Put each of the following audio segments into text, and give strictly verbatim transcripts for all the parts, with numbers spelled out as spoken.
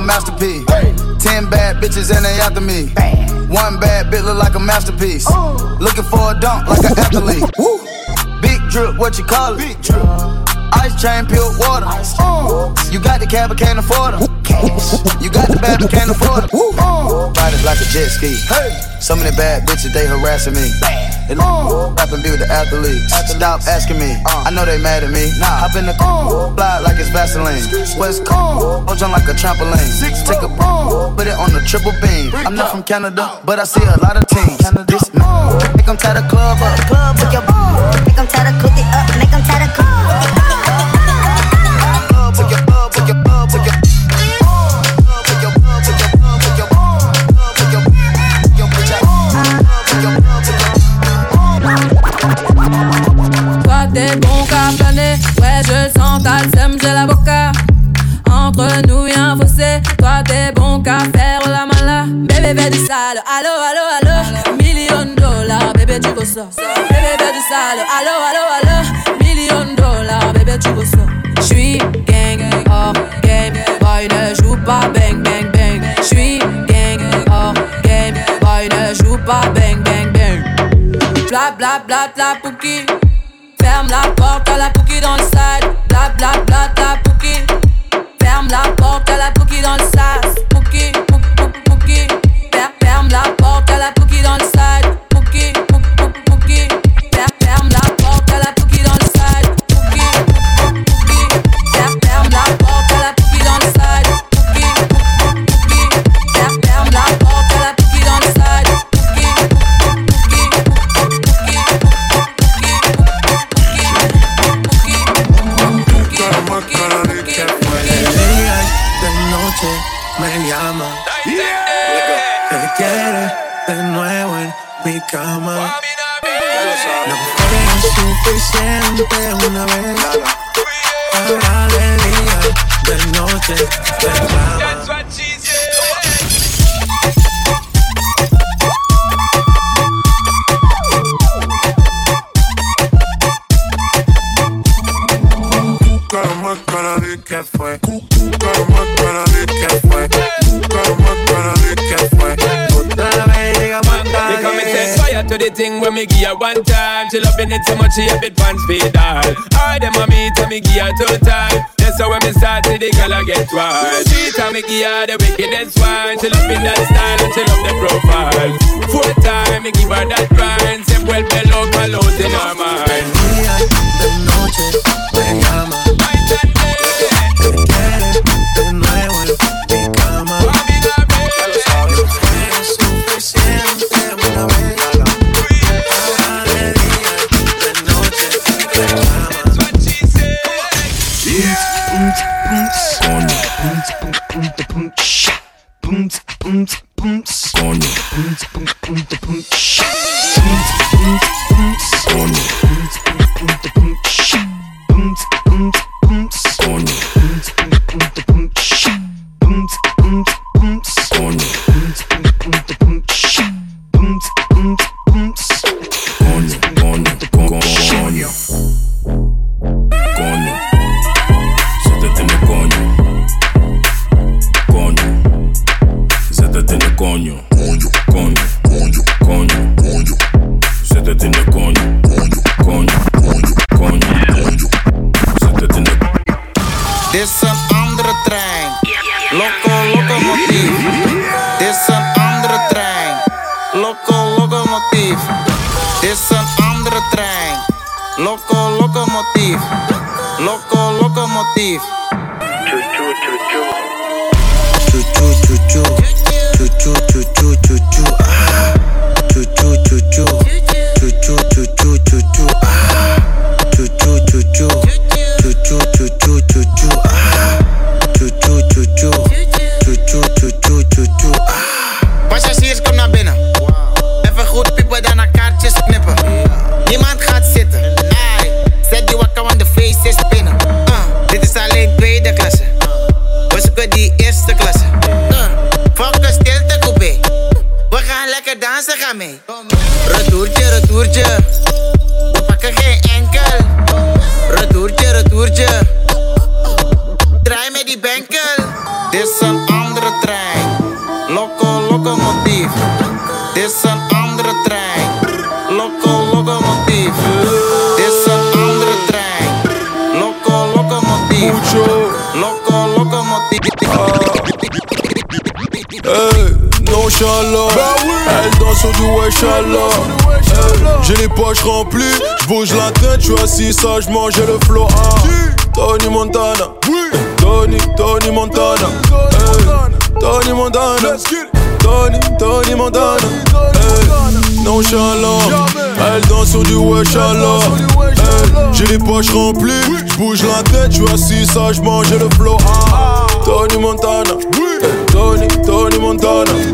masterpiece. Ten bad bitches and they after me. One bad bitch look like a masterpiece. Looking for a dunk like an athlete. Big drip, what you call it? Big drip. Ice chain, pure water. Uh, you got the cab, but can't afford them. You got the bad, but can't afford them. Uh, Ride it like a jet ski. Hey. So many bad bitches, they harassing me. They uh, rap and be with the athletes. Stop asking me, uh, I know they mad at me. Nah, hop in the uh, fly like it's Vaseline. West Coast, hold on like a trampoline. Take a uh, put it on the triple beam. I'm not from Canada, but I see a lot of teams. This, uh, make them tie the club up. Club with your ball. Make them tie the cookie up. Make them tie the club. Toi t'es bon qu'à planer, ouais je le sens, t'as le seum, j'ai la boca. Entre nous y'a un fossé, toi t'es bon qu'à faire la mala. Bébé fais du sale, allo allo allo. Million dollars, bébé tu veux ça. Bébé fais du sale, allo allo allo. Million dollars, bébé tu veux ça. J'suis gang, hors game, boy ne joue pas bang bang bang. J'suis gang, hors game, boy ne joue pas bang bang bang. Bla bla bla bla pouki. Ferme la porte à la pouki dans le side. Bla bla bla bla pouki. Ferme la porte à la pouki dans le sas. Pouki, pouki, pouki. Ferme la porte à la pouki dans le side. Pouki, pouki, pouki. Ferme la porte à la pouki dans le side. Pouki, pouki. Ferme la porte à la pouki dans le side. Pouki, pouki. Ferme la porte à la pouki dans le side. Pouki, me llama, que quiere de nuevo en mi cama. No fue suficiente una vez, ahora de día, de noche, reclama. Como para decir que fue, como para decir que fue, como para decir que fue. Otra vez llegamos a tarde. They come and set fire to the thing when me give her one time. She loving it so much she a bit pants feed all. All them on me tell me give her two time. That's how when me start see the girl I get wild. Three time me give her the wickedest one. She loving that style and she love the profile. Four time me give her that grind. Se vuelve loca, lost in her mind. Día, de noche, me llama. De nuevo en mi cama. No fue suficiente una vez, ahora de día, de noche, reclama. Dit is een andere trein. Loco, locomotief. Dit is een andere trein. Loco, locomotief. Dit is een andere trein. Loco, locomotief. Loco, locomotief. Choo choo choo choo. Choo choo choo choo. Choo choo choo choo choo choo. Choo choo choo choo. Choo choo choo choo choo choo. Choo choo choo choo. Choo choo choo choo choo choo. Choo choo choo choo. Choo choo choo choo choo choo. Passagiers, kom naar binnen. Even goed piepen, dan naar kaartjes knippen. Niemand gaat zitten. Ai, zet die wakker, want de feest is binnen. Uh, dit is alleen tweede klasse. We zoeken die eerste klasse. Uh, fuck een stilte coupé. We gaan lekker dansen, ga mee. Retourtje, retourtje. We pakken geen enkel. Retourtje, retourtje. Draai met die benkel. Dit is een andere trein. Loco, locomotief. Dit is een andere trein. Loco, locomotief. Dit is een andere trein. Loco, locomotief. Loco, locomotief. Hey, nonchalant. Elle danse sur du wesh-Allah. Hey, j'ai les poches remplies, j'bouge la tête, j'suis assis sagement, j'ai le flow. Ah, Tony Montana. Tony, Tony Montana. Hey, Tony Montana. Tony, Tony Montana. Hey, nonchalant. Elle danse sur du wesh-Allah. Hey, j'ai les poches remplies, j'bouge la tête, j'suis assis sagement, j'ai le flow. Ah, Tony Montana. Hey, Tony, Tony Montana. Hey,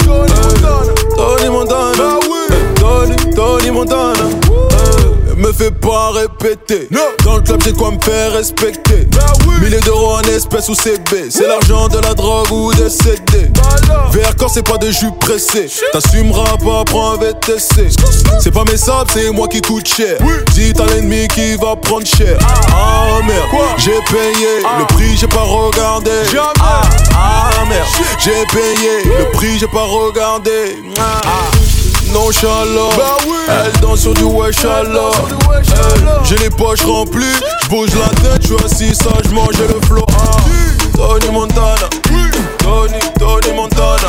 Tony Montana. Hey, Tony, Tony Montana. Hey, me fais pas répéter. Dans le club, j'ai de quoi me faire respecter. Milliers d'euros en espèces ou C B. C'est l'argent de la drogue ou des C D. V R corps, c'est pas de jus pressé. T'assumeras pas, prends un V T C. C'est pas mes sables, c'est moi qui coûte cher. Dis à l'ennemi qui va prendre cher. Ah merde, j'ai payé le prix, j'ai pas regardé. Ah, ah merde, j'ai payé le prix, j'ai pas regardé. Ah, nonchalant, bah oui. Elle danse sur du wesh-Allah. J'ai les poches remplies, j'bouge la tête, j'suis assis sagement, j'ai le flow. Ah, Tony Montana. Tony, Tony Montana.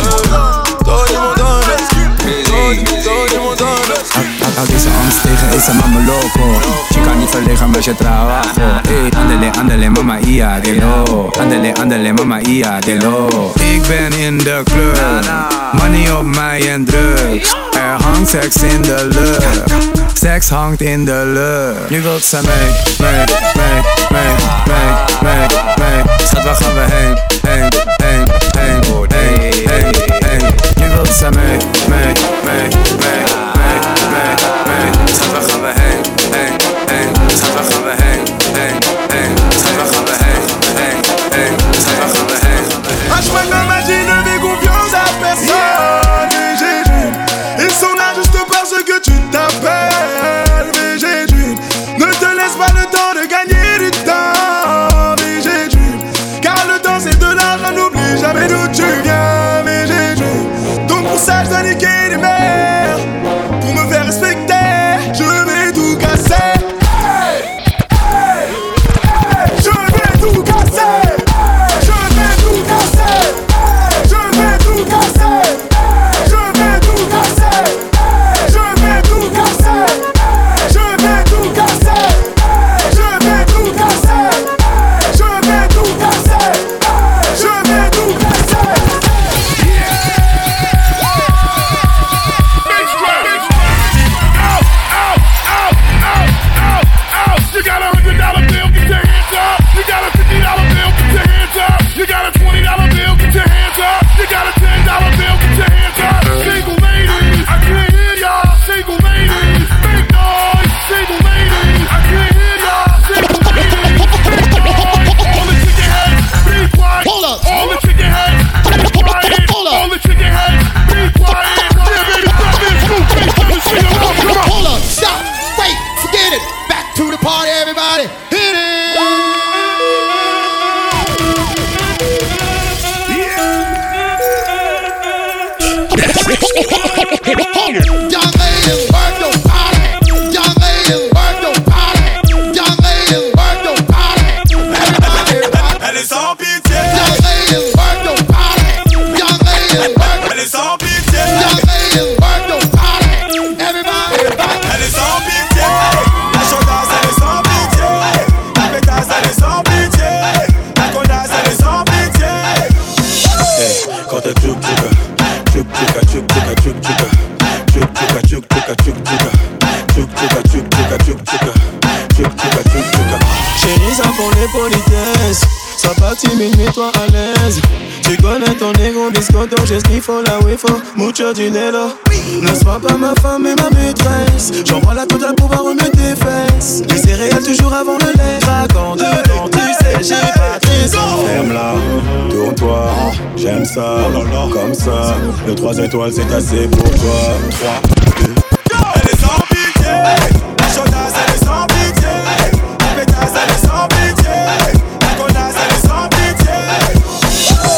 Tony Montana. Tony, Tony Montana. Al deze angst tegen is een mama loco. Je kan niet verlegen met je trabajo. Ey, andele, andele, mama ia, de lo. Andele, andele, mama ia, de lo. Ik ben in de club, money op mij en drugs. Er hangt seks in de lucht, seks hangt in de lucht. Nu wilt ze mee, mee, mee, mee, mee, mee, mee. Schat, waar gaan we heen, heen, heen, heen, heen, heen, heen. Nu wilt ze mee, mee, mee, mee, mee, mee, mee. Schat, waar gaan we heen, heen, heen. Schat, waar gaan we heen, heen, heen. Schat, waar gaan we heen, heen, heen. Schat, waar gaan we heen, heen. Ah, je peux m'imaginer, mais confiance à personne. Mais j'ai dû, ils sont là juste parce que tu t'appelles. Mais j'ai dû, ne te laisse pas le temps de gagner du temps. Mais j'ai dû, car le temps c'est de l'argent, n'oublie jamais d'où tu viens. Mais j'ai dû, donc pour ça je dois niquer les mères. Pour me faire respecter, je vais tout casser. Hey, hey, hey, je vais tout casser. Je vais tout casser. Je vais tout casser. Je vais tout casser. Je vais tout casser. Je vais tout casser. Je vais tout casser. Je vais tout casser. Je vais tout casser. You got a hundred dollar bill, get your hands up. You got a fifty dollar bill, get your hands up. You got a twenty dollar bill, get your hands up. You got a ten dollar bill, get your hands up. Single ladies, I can't hear y'all. Single ladies, make noise. Single ladies, I can't hear y'all. Single ladies, make noise. All the chicken heads, be quiet. Hold up. All the chicken heads, be quiet. Hold up. All the chicken heads, be quiet. Yeah, baby, stop this. Move, face, let me see you. Come on. Hold up, stop, wait, forget it. Back to the party, everybody. Hit it. Young ladies, work your body. Young ladies, work your body. Young ladies, work your body. Everybody rock. Elle est sans pitié. Young ladies, work your body. Young ladies, work. Elle est sans pitié. Young ladies, work your body. Everybody rock. Elle est sans pitié. La chaudasse, elle est sans pitié. La pétasse, elle est sans pitié. La connasse, elle est sans pitié. Hey, quand elle tchouk tchouka, tchouk tchouka, tchouk tchouka, tchouk tchouka, tchouk tchouka, tchouk tchouka, tchouk tchouka, tchouk tchouka, tchouk tchouka, tchouk tchouka, tchouk tchouka, tchouk tchouka. Chérie, ça pour les politesses. Sois pas timide, mets-toi à l'aise. Tu connais ton ego, biscotto, j'ai ce qu'il faut là où il faut. Mucho dinero. Ne sois pas ma femme et ma maîtresse. J'envoie la totale pour pouvoir remettre tes fesses. Les céréales toujours avant le lait. Craquant dedans, tu sais, j'ai pas très envie. Ferme-la, tourne-toi, j'aime ça, comme ça. Le trois étoiles c'est assez pour toi. trois, deux. Elle est sans pitié. La chaudasse elle est sans pitié. La pétasse elle est sans pitié. La connasse elle est sans pitié.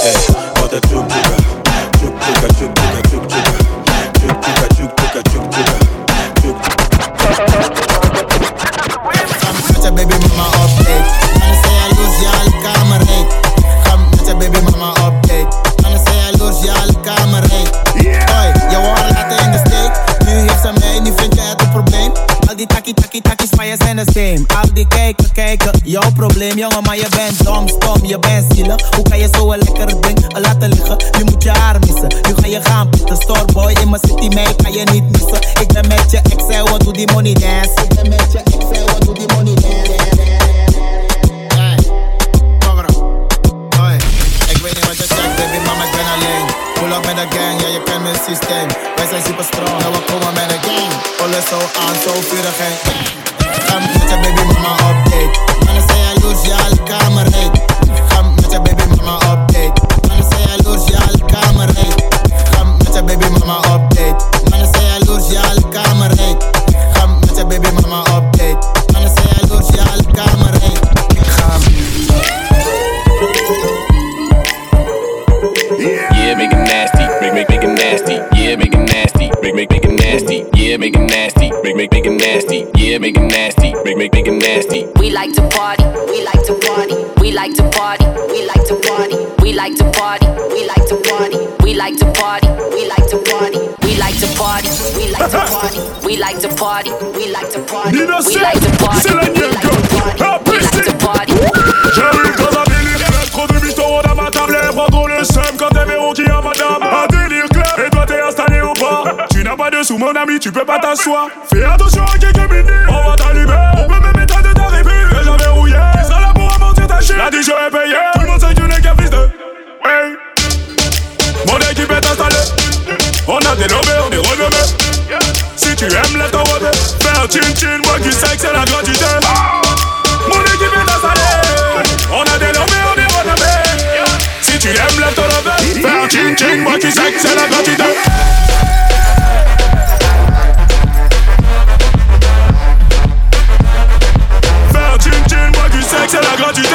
the same. Al die kijken, kijken, jouw probleem jongen, maar je bent dom, stom, je bent zielig. Hoe kan je zo een lekker ding laten liggen? Nu moet je haar missen, nu ga je gaan pitten. Storeboy in mijn city, mij kan je niet missen. Ik ben met je ex, en wat doe die money dance? Ik ben met je ex, en wat doe die money dance? Hey, fuck it up. Hoi, ik weet niet wat je zegt, baby, mama, ik ben alleen. Pull up met de gang, ja, je kent mijn systeem. Wij zijn super strong, en we komen met de gang. Alles zo aan, zo vurig en ga met je baby mama update. Mannen zijn jaloers, ja, alle kamer heet. Ga met je baby mama update. Mannen zijn jaloers, ja, alle kamer heet. Ga met je baby mama update. Mannen zijn jaloers, ja, alle kamer heet. Ga met je baby mama update. Mannen zijn jaloers, ja, alle kamer heet. Ga Yeah, make it nasty, make make make it nasty. Yeah, make it nasty, make make make it nasty. Yeah, make it nasty, make make make it nasty. Yeah, make it nasty, make make make it nasty. We like to party, we like to party, we like to party, we like to party, we like to party, we like to party, we like to party, we like to party, we like to party, we like to party, we like to party, we like to party, we like to party, we like to party, we like to party. J'arrive dans un délire, trop de mythos dans ma table. Elles prendront le seum quand elles verront qu'il y a madame. Un délire clair, et toi t'es installé au bar. Tu n'as pas de sous mon ami, tu peux pas t'asseoir. Fais attention à quelques minutes, on va t'allumer. On peut même éteindre de ta répute. Déjà verrouillé, tu seras là pour amortir ta chute. La dijon est payée, tout le monde sait que tu n'es qu'un fils de hey. Mon équipe est installée, on a dénommé, on est renommé. Si tu aimes la taroter, fais un chin-chin, moi qui sais que c'est la gratuité. Mon équipe est installée, on a dénommé, on est renommé. Si tu aimes la taroter, fais un chin-chin, moi qui sais que c'est la gratuité. Fais un chin-chin, moi qui sais que c'est la gratuité.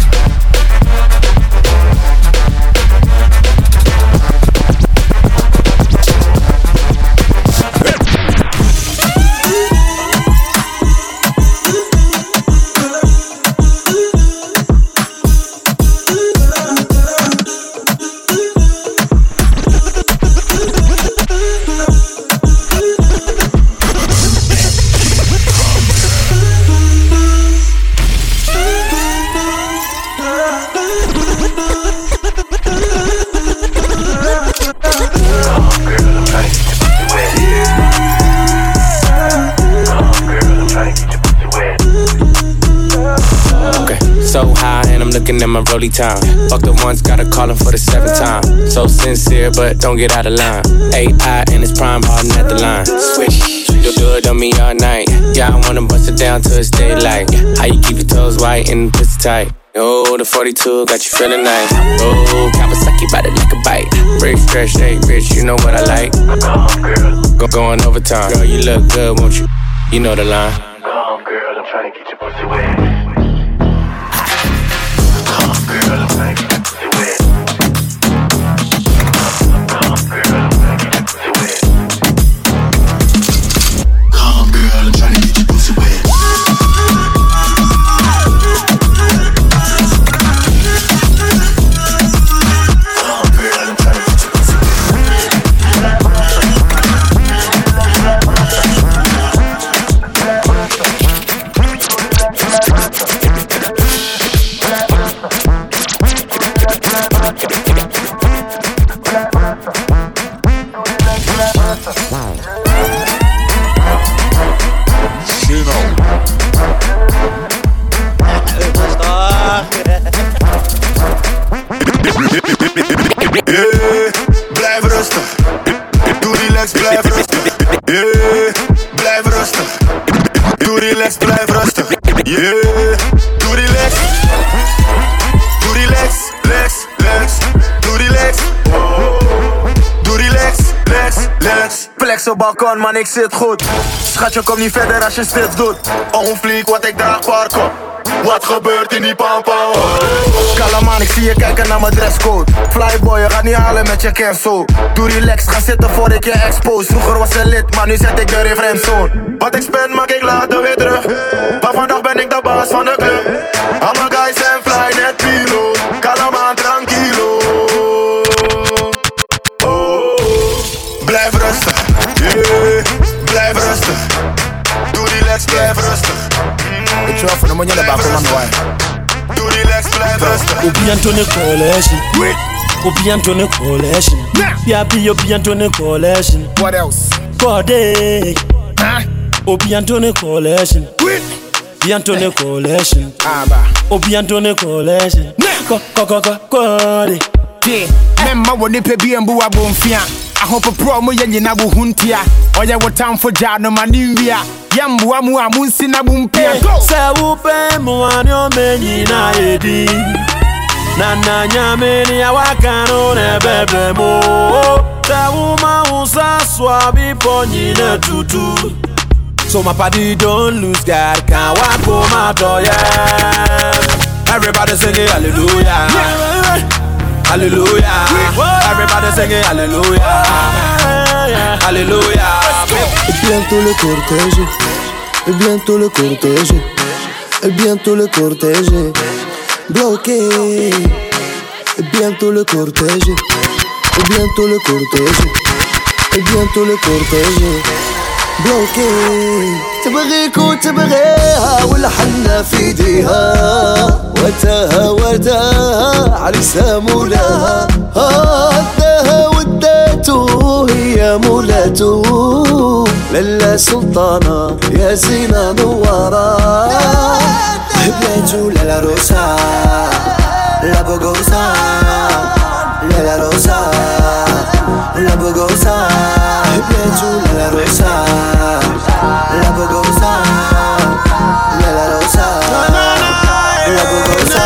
So high and I'm looking at my rollie time. Fuck the ones, gotta call him for the seventh time. So sincere, but don't get out of line. A I and it's prime hardin' at the line. Swish, you'll do it on me all night. Yeah, I wanna bust it down till it's daylight. How you keep your toes white and pussy tight? Oh, the forty-two got you feeling nice. Oh, Kawasaki ride it like a bike. Break, stretch, shake, bitch, you know what I like. Go going overtime. Girl, you look good, won't you? You know the line. Come, girl, I'm trying to get your pussy wet. Come, girl, I'm trying to get your pussy wet. Come, girl, I'm trying to get your pussy wet. Come, girl, I'm trying to get your pussy wet. Op balkon, man, ik zit goed. Schatje, kom niet verder als je stift doet. Onfliek, wat ik draag, parko. Wat gebeurt in die pampa? Kalm man, ik zie je kijken naar mijn dresscode. Flyboy, je gaat niet halen met je cancel. Doe relaxed, ga zitten voor ik je expose. Vroeger was ze lid, maar nu zet ik de in friendzone. Wat ik spend, maak ik later weer terug. Maar vandaag ben ik de baas van de club. Al mijn guys zijn fly, net pilo. Kalm man, tranquilo. Blijf rustig, yeah. Blijf rustig. Doe relax, blijf rustig. Tu vas faire le moyen de bas comment ouais. Ou bientôt ne collège. Ou bientôt ne collège. Yabi ou bientôt ne collège. What else? Codé. Ou bientôt ne collège. Bientôt ne collège. Ah bah. Ou bientôt ne collège. Co co co co codé. Même ma wone pe bien bu abonfia. I hope a pro mo yenye na bu huntia. Oya what time for jano manivia. Yambu amu amunsi na bumpia. Se upe mo anyo menyi na edi. Nana nyame ni awakano ne bebe mo. Se uma usa swabi ponyi ne tutu. So my party don't lose God, can't walk for my door, yeah. Everybody singing hallelujah, hallelujah. Everybody singing hallelujah, hallelujah. Et bientôt le cortège, et bientôt le cortège, et bientôt le cortège bloqué. Et bientôt le cortège, et bientôt le cortège, et bientôt le cortège bloqué. تبغيك وتبغيها والحنة في ايديها وتاها وتاها عرسها مولاها هداها وداته هي مولاته للا سلطانة يا زينة نوارة بيتو لا روسا لا بوغوسا لا روسا لا بوغوسا بيتو لا روسا la bogosa, la la rosa, la bogosa.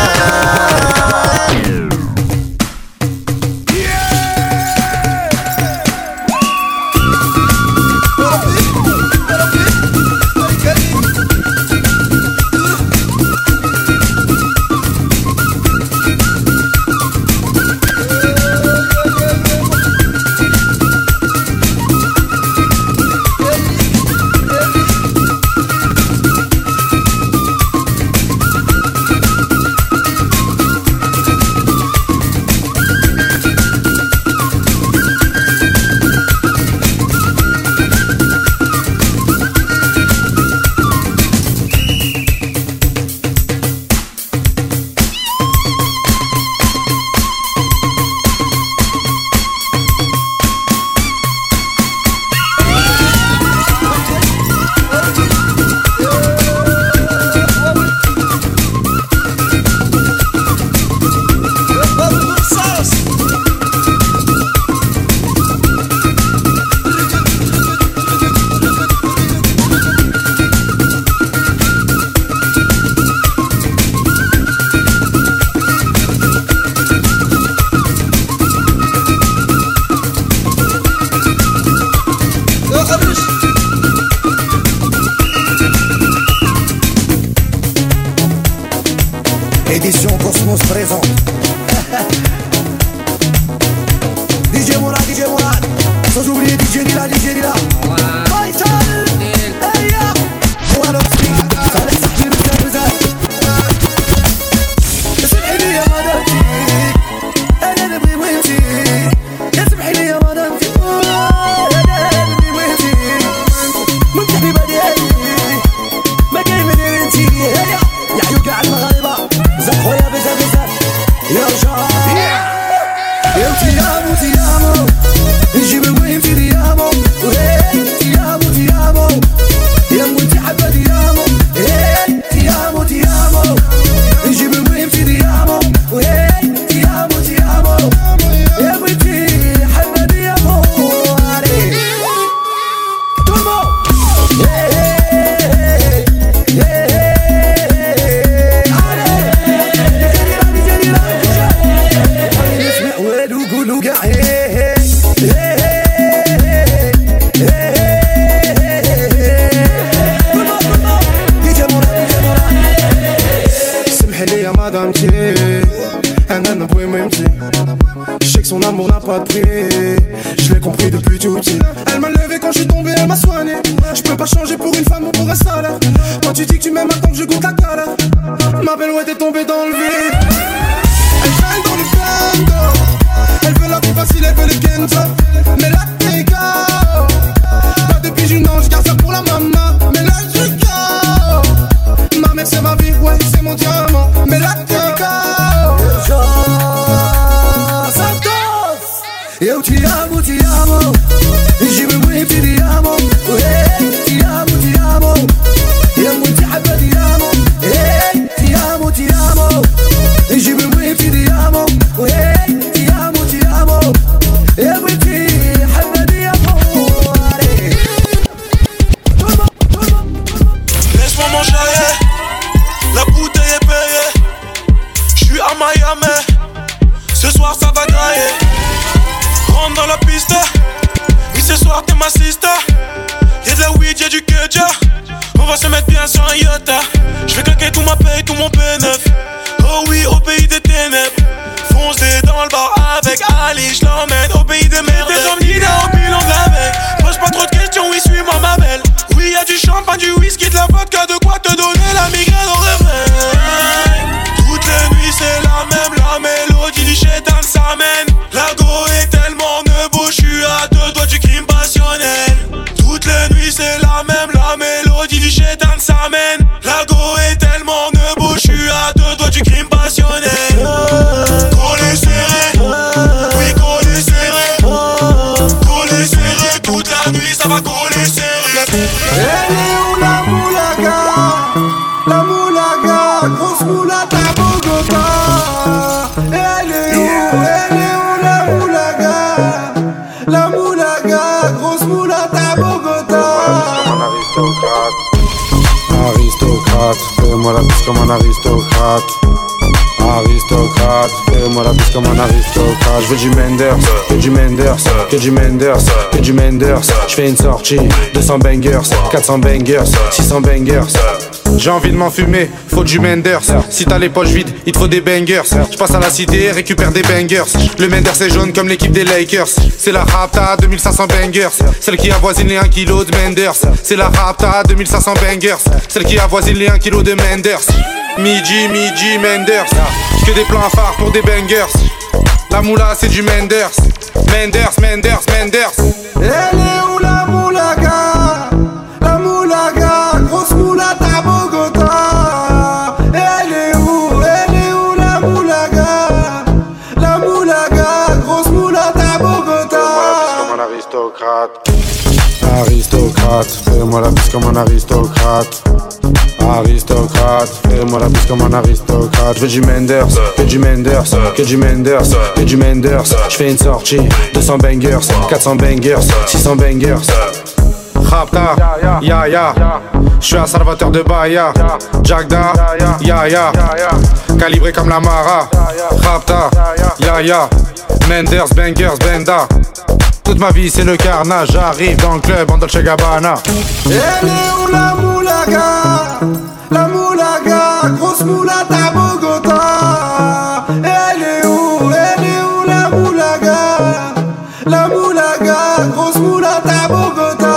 Édition Cosmos présente. D J Mourad, D J Mourad. Sans oublier D J Dila, D J Dila. Vital. Hey ya. One of three. Alex Akil Buzal. اسمحي لي يا مدامتي. أنا نبغي وانتي. اسمحي لي يا مدامتي. أنا نبغي وانتي. من تحبي بديالي. ما كاين من انتي. هيا. يا عيون كاع المغاربة. زاد خويا بزاف بزاف يا رجال يا تيامو تيامو نجيب المهم تيامو تيامو تيامو يا موتي حبة تيامو تيامو تيامو نجيب المهم تيامو تيامو تيامو يا موتي حبة تيامو Je sais que son amour n'a pas de prix. Je l'ai compris depuis tout petit. Elle m'a levé quand je suis tombé, elle m'a soigné. Je peux pas changer pour une femme ou pour un salaire. Quand tu dis que tu m'aimes, attends que je goûte la galère. Ma belle, ouais, t'es tombée dans le vide. Elle traîne dans le bando. Elle veut la vie facile, elle veut le Kenzo. Mais là, t'es K O. Pas de bijoux, non, je garde ça pour la maman. Mais là, je suis K O. Ma mère, c'est ma ma sister. Y'a de la weed, y'a du kedja. On va se mettre bien sur un iota. J'vais claquer tout ma paye, tout mon P neuf. Oh oui, au pays des ténèbres. Foncez dans le bar avec Ali, j'l'emmène au pays des merdes. T'es comme Nina au bilan de la veille. Pose pas trop de questions, oui, suis-moi ma belle. Oui, y'a du champagne, du whisky, de la vodka, de quoi te donner la migraine au réveil. Toutes les nuits c'est la même, la mélodie du chétan s'amène. La go est tellement nebo, j'suis à deux doigts du crime passionnel. Toutes les nuits c'est la même, la mélodie du chétan s'amène. La go est tellement nebo, j'suis à deux doigts du crime passionnel. Collé serré, oui collé serré. Collé serré, toute la nuit ça va coller serré. Elle est où la moulaga? La moulaga, grosse moulata à Bogota. Elle est où? Elle est où la moulaga? La moulaga, grosse moulata à Bogota. Aristocrate, fais-moi la bise comme un aristocrate. Aristocrate, fais-moi la bise comme un aristocrate. Je veux du Menders, que du Menders, que du Menders, que du Menders. Je fais une sortie, deux cents bangers, quatre cents bangers, six cents bangers. J'ai envie de m'enfumer, faut du Menders. Si t'as les poches vides, il te faut des bangers. Je passe à la cité, récupère des bangers. Le Menders est jaune comme l'équipe des Lakers. C'est la Rapta, deux mille cinq cents bangers. Celle qui avoisine les un kilo de Menders. C'est la Rapta, deux mille cinq cents bangers. Celle qui avoisine les un kilo de Menders. Midi, midi, Menders. Que des plans phares pour des bangers. La moula c'est du Menders. Menders, Menders, Menders. Elle est où la moulaga? La moulaga, grosse moulata à Bogota. Elle est où? Elle est où la moulaga? La moulaga, grosse moulata à Bogota. Comme un aristocrate. Aristocrate, fais-moi la bise comme un aristocrate. Aristocrate, fais-moi la bise comme un aristocrate. Je veux du Menders, que du Menders, que du Menders, que du Menders. Je fais une sortie, deux cents bangers, quatre cents bangers, six cents bangers. Rapta, ya ya, je suis un salvateur de Bahia. Jagda, ya ya, calibré comme la Mara. Rapta, ya ya, Menders, bangers, benda. Toute ma vie c'est le carnage, j'arrive dans le club en Dolce Gabbana. Elle est où la moulaga? La moulaga, grosse moulata à Bogota. Elle est où? Elle est où la moulaga? La moulaga, grosse moulata à Bogota.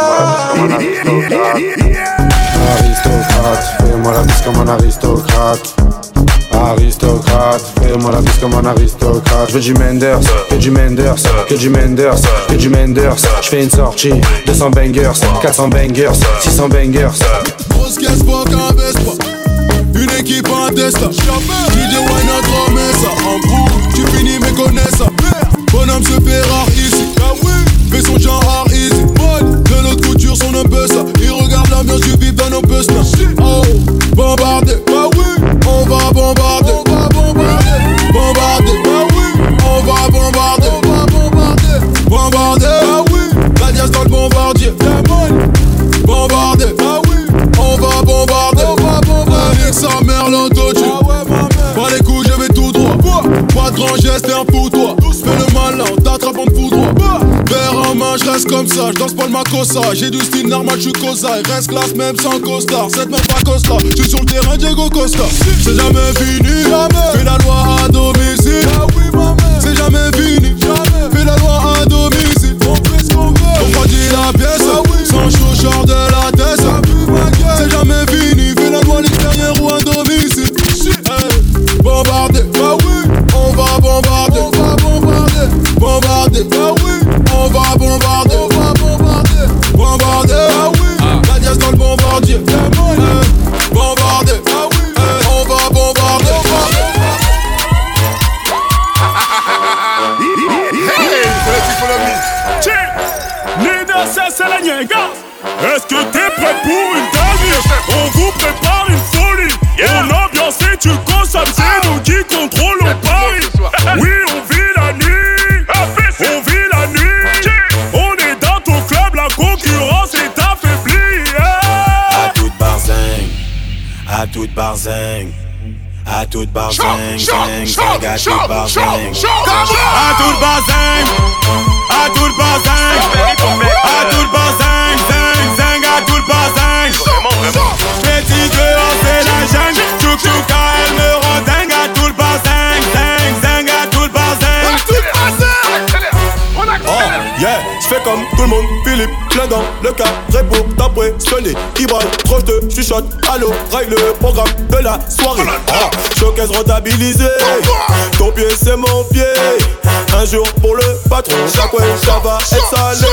Aristocrate, fais-moi la bise comme un aristocrate. Aristocrate, fais-moi la bise comme un aristocrate. Je veux du Menders, que du Menders, que du Menders, que du Menders. Je fais une sortie, deux cents bangers, quatre cents bangers, six cents bangers. Grosse caisse, pas qu'un Vespa. Une équipe, un Tesla. D J Wine a tremé ça. En gros, tu finis mes connaissances. Bonhomme se fait rare ici. Fais son genre hard easy. De notre couture, son un peu ça. Il regarde l'ambiance du vif dans nos puces. Oh, bombardé, bah oui. On va bombarder, on va bombarder. Bombarder, bah oui. On va bombarder, on va bombarder. Bombarder, bah oui. La diaz dans le bombardier. Bombarder, bah oui. On va bombarder, on va bombarder. Avec sa mère l'entendue. Pas les coups, je vais tout droit. Pas de grand geste et un fous-toi. Fais le malin, on t'attrape, on te fout droit. Verre en main, je reste comme ça, je danse pas le macossa. J'ai du style normal, je suis cosa. Reste classe même sans costard. Cette meuf pas Costa, je suis sur le terrain Diego Costa. C'est jamais fini, jamais. Fais la loi à domicile. C'est jamais fini, jamais. Fais la loi à domicile. On fait ce qu'on veut. On dit la pièce, sans chaud, genre de la tête. C'est jamais fini, fais la loi l'extérieur ou à domicile. Hey. Bombarder, bah oui. On va bombarder, on va bombarder. Bombarder, bah oui. On va bombarder, on va bombarder. Bombarder, bah oui. La diaz dans le bombardier. Hey. Bombarder, bah oui. Hey. On va bombarder, on va Nina, ça c'est la niaga. Est-ce que t'es prêt pour une dinguerie? On vous prépare une folie. Yeah. On ambiance et tu consommes, c'est nous qui contrôlons Paris. Oui, on vit la nuit. On vit la nuit. On est dans ton club, la concurrence est affaiblie. Yeah. À toute barzing, à toute barzing. À toute barzing, zing, zing, à toute barzing. À toute barzing, à toute barzing, à toute barzing. plein dans le carré pour t'impressionner. Ibrahim, trop je te chuchote, allô, règle le programme de la soirée. Ah, showcase rentabilisé, ton pied c'est mon pied. Un jour pour le patron, chaque fois ça va être salé.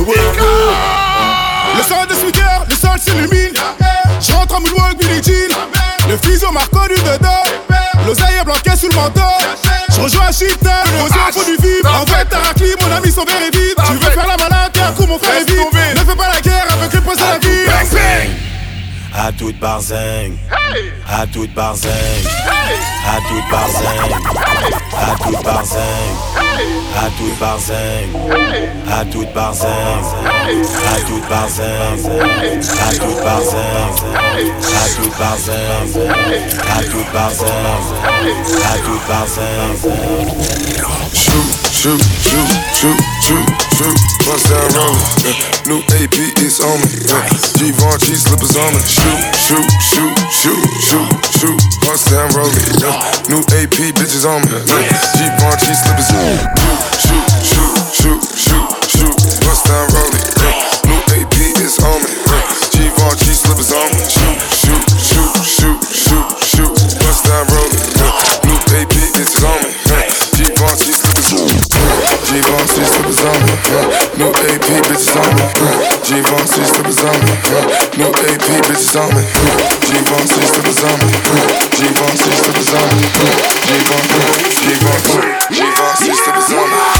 Le sang de Smicker, le sol s'illumine. Je rentre en moonwalk, Billie Jean. Le physio m'a reconnu dedans. L'oseille est bloqué sous le manteau. Je rejoins un shit, le posé au fond du vide. En fait, t'as racli, mon ami, son verre est vide. Tu veux faire la malade, t'es un coup, mon frère est vide. Ne fais pas la guerre avec le poste à la vie. À toute barzing, à toute barzing, à toute barzing, à toute barzing, à toute barzing, à toute barzing, à toute barzing, à toute barzing, à toute barzing, à toute barzing, à toute barzing. Shoot, shoot, shoot, shoot, shoot, shoot, bust down rollin'. Yeah. New A P is on me. Yeah. Givenchy slippers on me. Shoot, shoot, shoot, shoot, shoot, shoot, bust down rollin'. Yeah. New A P bitches on me. Yeah. Givenchy slippers on me. Shoot, shoot, shoot, shoot, shoot, bust down rollin'. Yeah. New A P is on me. Yeah. Givenchy slippers on me. Shoot, shoot, shoot, shoot, shoot, shoot, bust down rollin'. Yeah. New A P is on me. Yeah. Givenchy slippers on me. Givenchy slippers on me. New A P bitches on me. Givenchy slippers on me. New A P bitches on me. Givenchy slippers on me. Givenchy slippers on me. Givenchy, Givenchy, Givenchy slippers on me.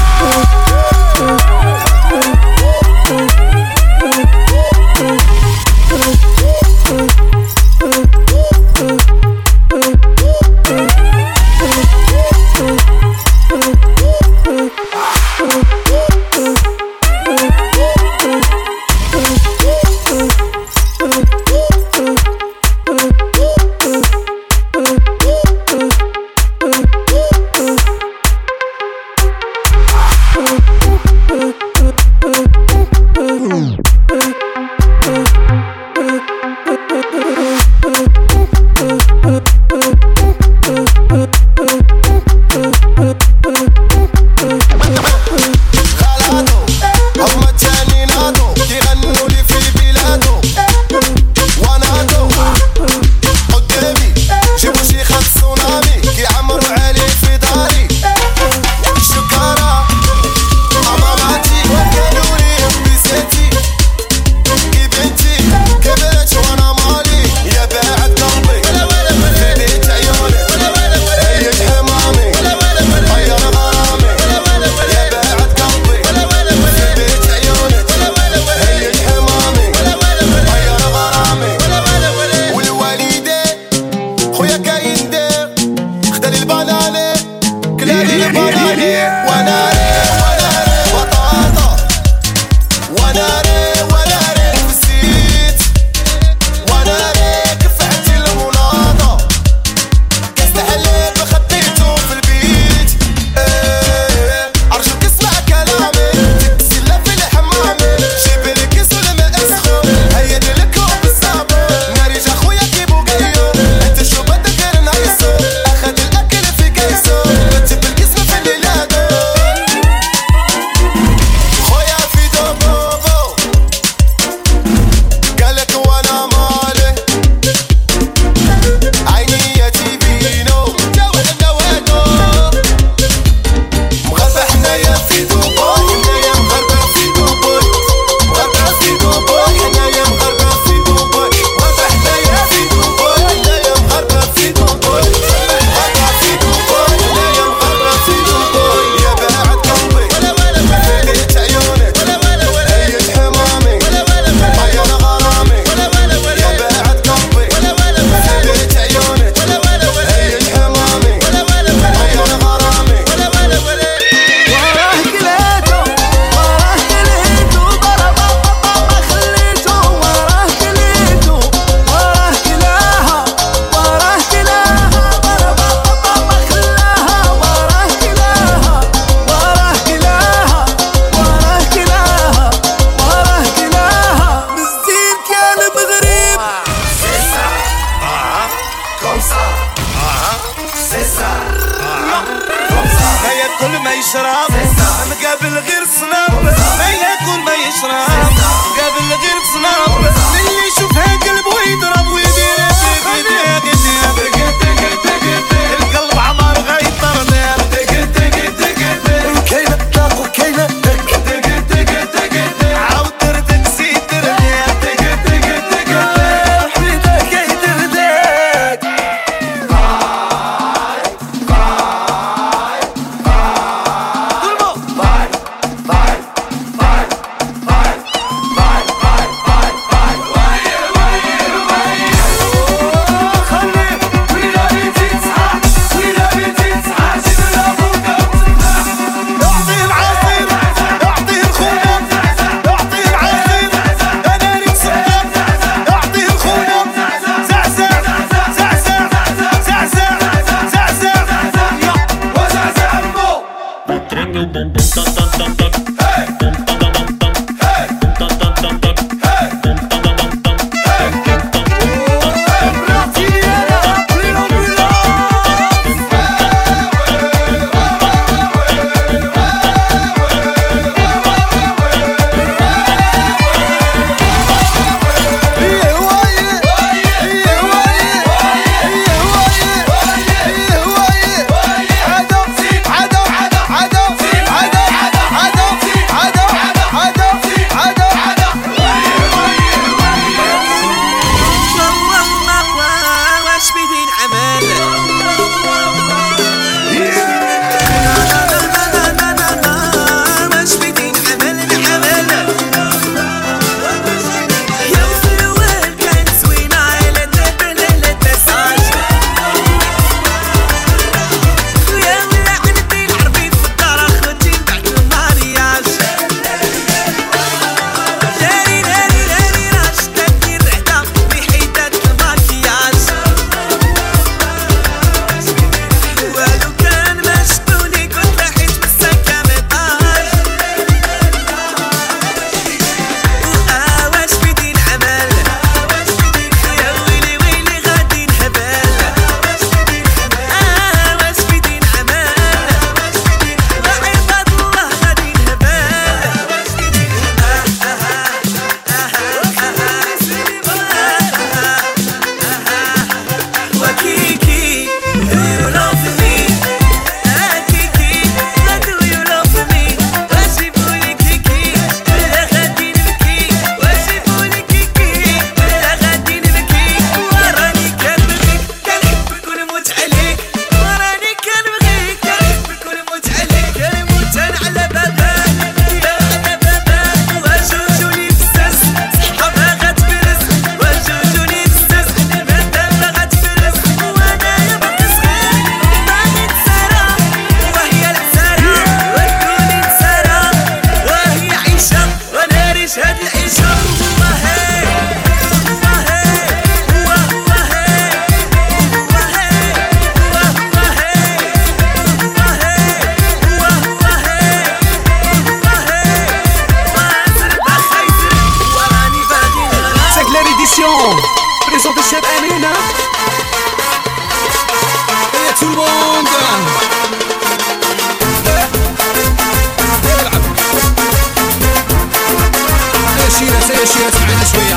شيرة سير شيرة سمعنا شوية.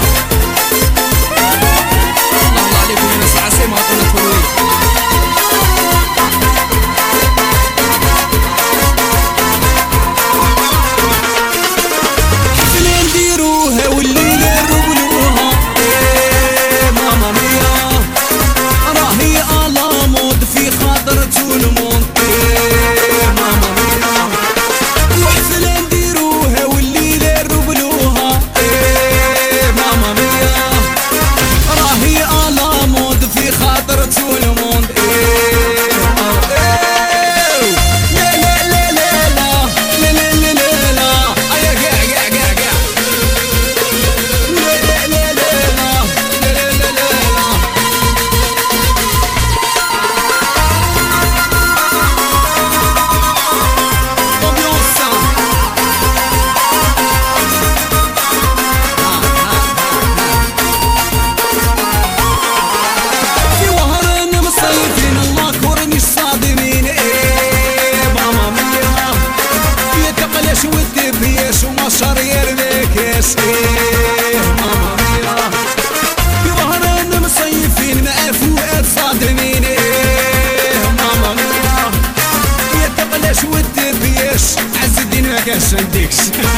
الله الله عليكم يا ناس العاصمة عطونا تفروي. حفلة نديروها والليلة نرقلوها إيه ماما ميا راهي على مود في خاطر تونمون إيه ماما ميا وحفلة نديروها والليلة نرقلوها إيه ماما ميا راهي على مود في خاطر تونمون إيه إيه لا لا لا لا لا لا لا لا لا أيا قاع قاع قاع قاع لا لا لا لا لا لا لا لا لا Ambiance. في وهرنا مصيفين الله كورني الصادمين ايه ماما ميا يتقلش والدبيش ومصر يرميكس ايه ماما ميا في وهرنا مصيفين مع فؤاد صادمين ايه ماما ميا يتقلش والدبيش عز الدين ما كاش عندكش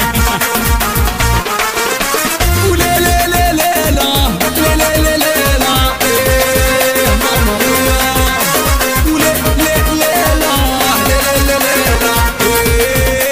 ولا لا لا لا لا لا لا لا لا لا إيه ماما ميا ولا لا لا لا لا لا لا لا إيه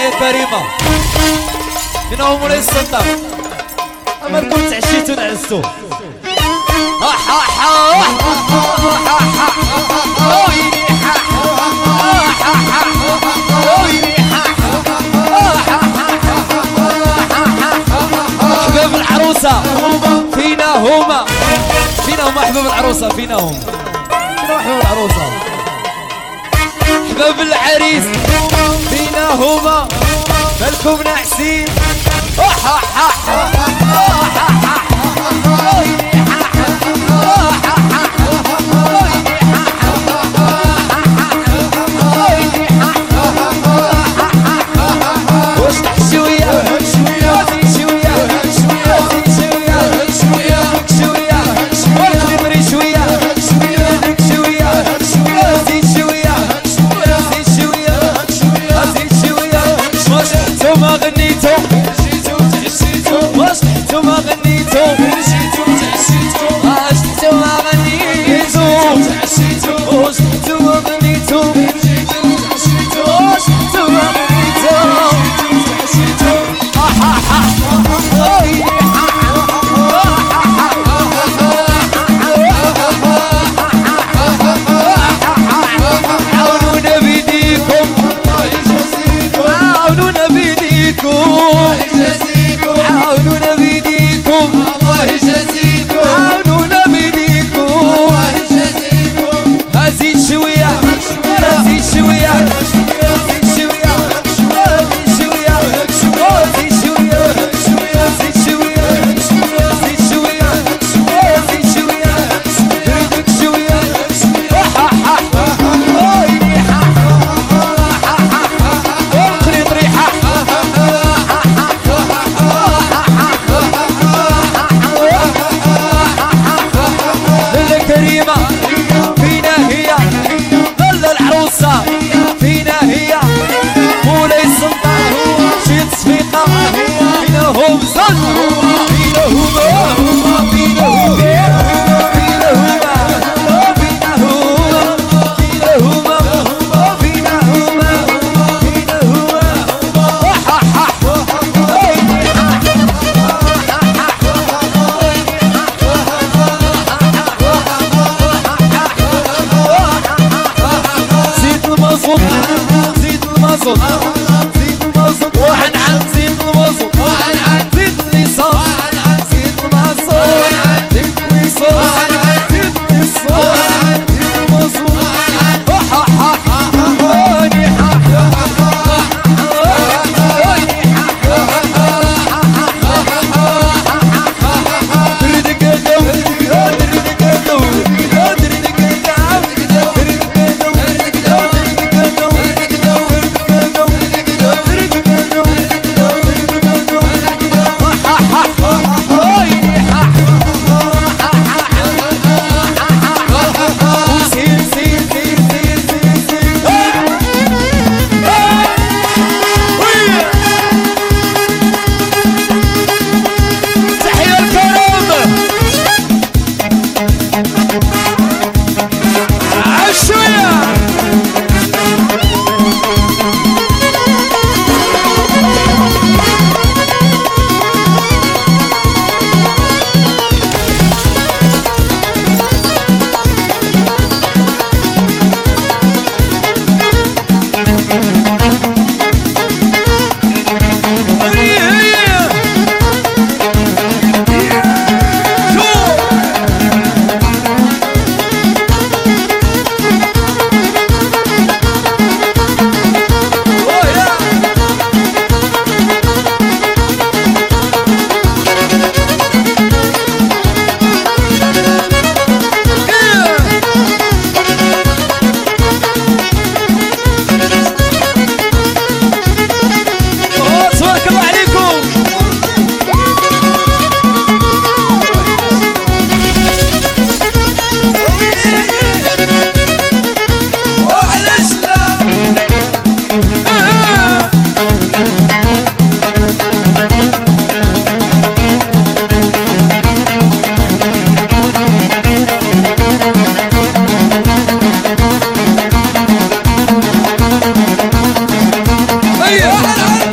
كريمة هنا هم مولاي السلطان أما نكون تعشيتو نعسو حباب العروسة فينا هما فينا هما حباب العروسة فينا هم فينا حباب العروسة حباب العريس فينا هما مالكم ناعسين واش شوية شوية شوية شوية شوية شوية ونخدمري شوية شوية شوية زيد شوية زيد شوية زيد شوية واش نتوما غنيتو واش نتوما غنيتو واش نتوما غنيتو واش نتوما غنيتو واش نتوما غنيتو عاونونا بيديكم عاونونا بيديكم عاونونا بيديكم الله يجازيكم عاونونا بيديكم زيد شوية زيد شوية زيد شوية زيد شوية زيد شوية زيد شوية زيد شوية زيد شوية ريدك شوية وقري طريحة لالا كريمة فينا هي لالا العروسة فينا هي مولاي السلطان شي تصفيقة فينا هم زن فينا هما فينا هما فينا هما فينا هما فينا هما فينا هما فينا هما زيد المازوت زيد المازوت زيد المازوت واحد عن زيد المازوت واحد عن زيد الليسانس زيد المازوت زيد الليسانس زيد الليسانس زيد المازوت هيا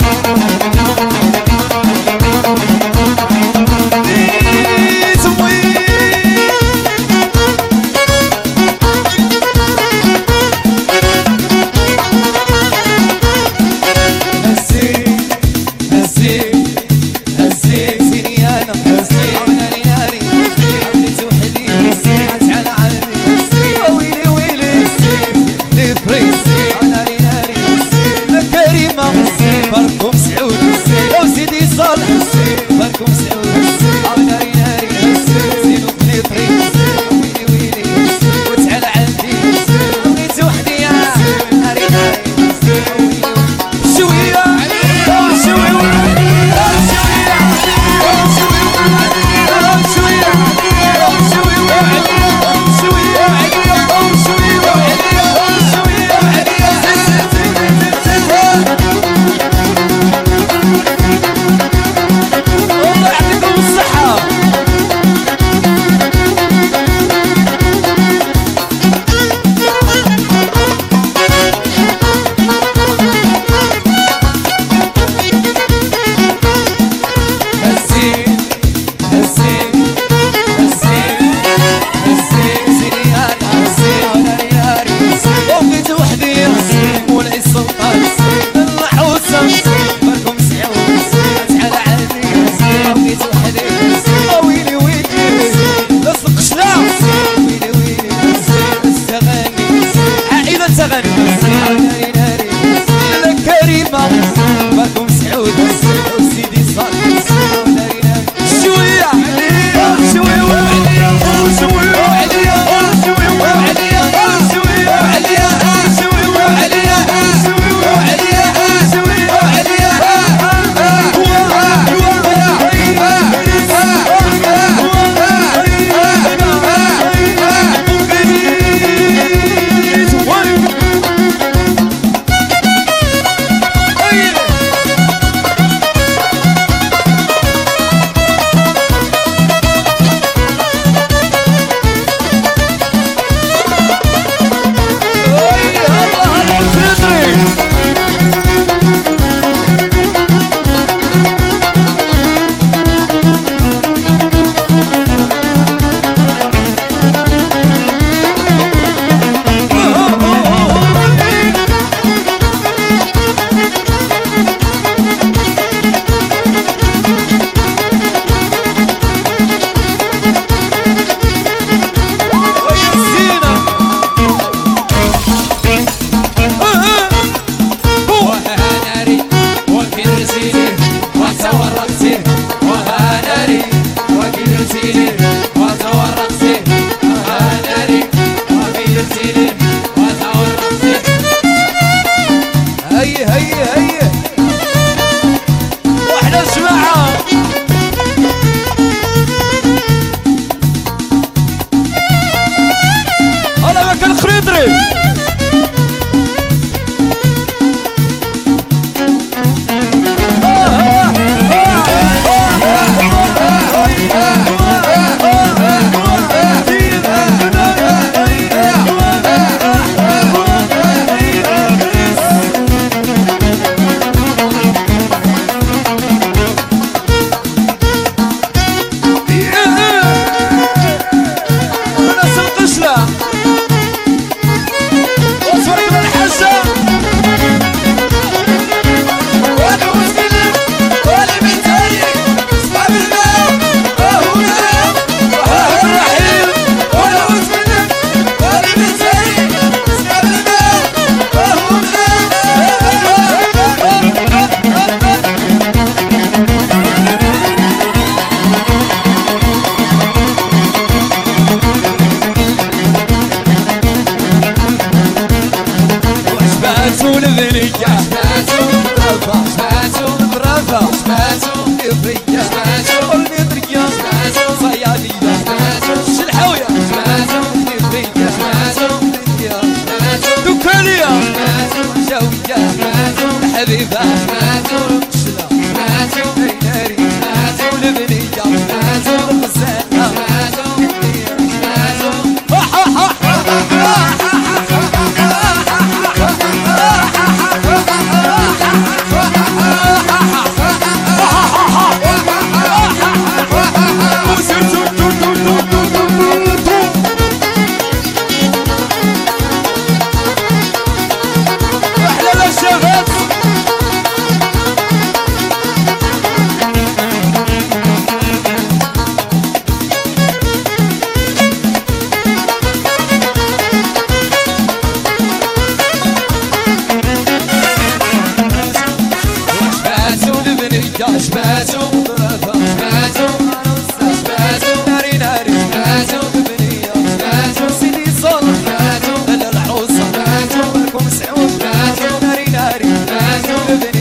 Living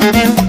Thank you.